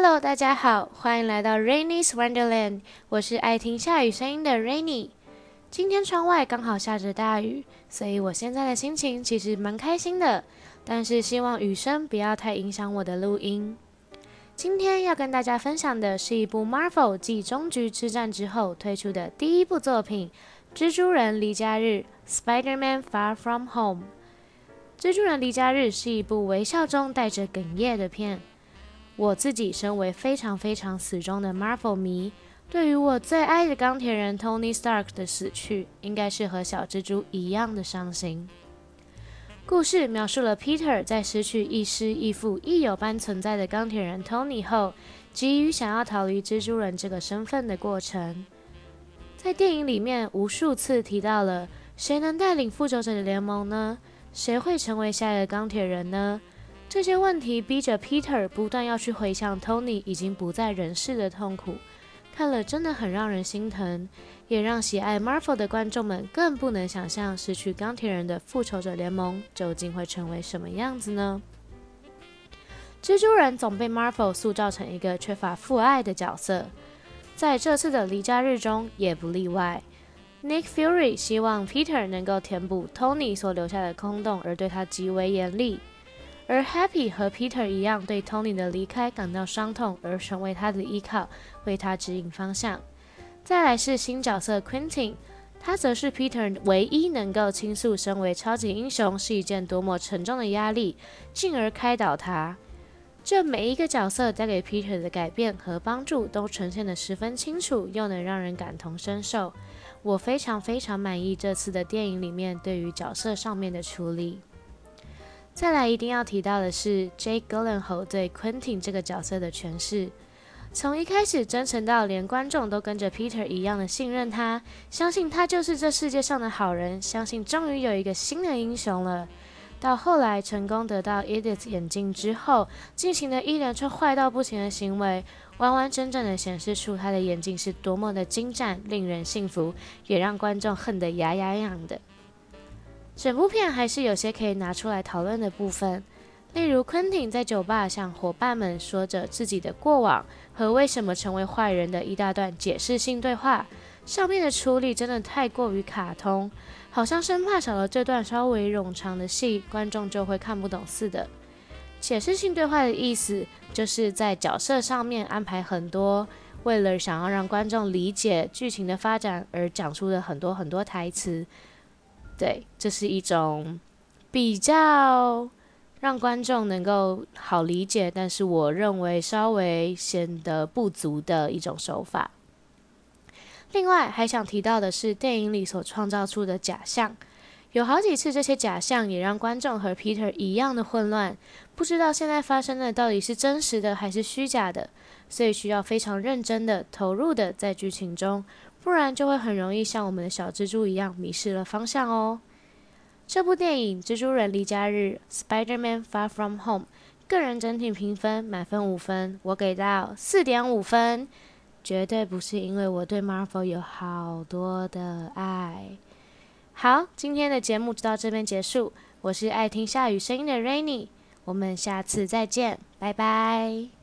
Hello， 大家好，欢迎来到 Rainy's Wonderland， 我是爱听下雨声音的 Rainy。今天窗外刚好下着大雨，所以我现在的心情其实蛮开心的，但是希望雨声不要太影响我的录音。今天要跟大家分享的是一部 Marvel 继终局之战之后推出的第一部作品《蜘蛛人离家日》Spider-Man Far From Home。蜘蛛人离家日是一部微笑中带着哽咽的片。我自己身为非常死忠的 Marvel 迷，对于我最爱的钢铁人 Tony Stark 的死去，应该是和小蜘蛛一样的伤心。故事描述了 Peter 在失去亦师亦父亦友般存在的钢铁人 Tony 后，急于想要逃离蜘蛛人这个身份的过程。在电影里面无数次提到了谁能带领复仇者的联盟呢？谁会成为下一个钢铁人呢？这些问题逼着 Peter 不断要去回想 Tony 已经不在人世的痛苦，看了真的很让人心疼，也让喜爱 Marvel 的观众们更不能想象失去钢铁人的复仇者联盟究竟会成为什么样子呢？蜘蛛人总被 Marvel 塑造成一个缺乏父爱的角色，在这次的离家日中也不例外。Nick Fury 希望 Peter 能够填补 Tony 所留下的空洞，而对他极为严厉。而 Happy 和 Peter 一样，对 Tony 的离开感到伤痛，而成为他的依靠，为他指引方向。再来是新角色 Quentin， 他则是 Peter 唯一能够倾诉身为超级英雄是一件多么沉重的压力，进而开导他。这每一个角色带给 Peter 的改变和帮助都呈现得十分清楚，又能让人感同身受。我非常满意这次的电影里面对于角色上面的处理。再来一定要提到的是 Jake Gyllenhaal 对 Quentin 这个角色的诠释，从一开始真诚到连观众都跟着 Peter 一样的信任他，相信他就是这世界上的好人，相信终于有一个新的英雄了。到后来成功得到 Edith 眼镜之后，进行了一连串坏到不行的行为，完整的显示出他的眼镜是多么的精湛，令人信服，也让观众恨得牙痒的。整部片还是有些可以拿出来讨论的部分，例如 Quentin 在酒吧向伙伴们说着自己的过往和为什么成为坏人的一大段解释性对话，上面的处理真的太过于卡通，好像生怕少了这段稍微冗长的戏，观众就会看不懂似的。解释性对话的意思就是在角色上面安排很多为了想要让观众理解剧情的发展而讲出的很多台词。对，这是一种比较让观众能够好理解，但是我认为稍微显得不足的一种手法。另外还想提到的是电影里所创造出的假象，有好几次这些假象也让观众和 Peter 一样的混乱，不知道现在发生的到底是真实的还是虚假的，所以需要非常认真的投入的在剧情中，不然就会很容易像我们的小蜘蛛一样迷失了方向哦。这部电影《蜘蛛人离家日》Spider-Man Far From Home 个人整体评分满分5分，我给到 4.5 分，绝对不是因为我对 Marvel 有好多的爱。好，今天的节目就到这边结束，我是爱听下雨声音的 Rainy， 我们下次再见，拜拜。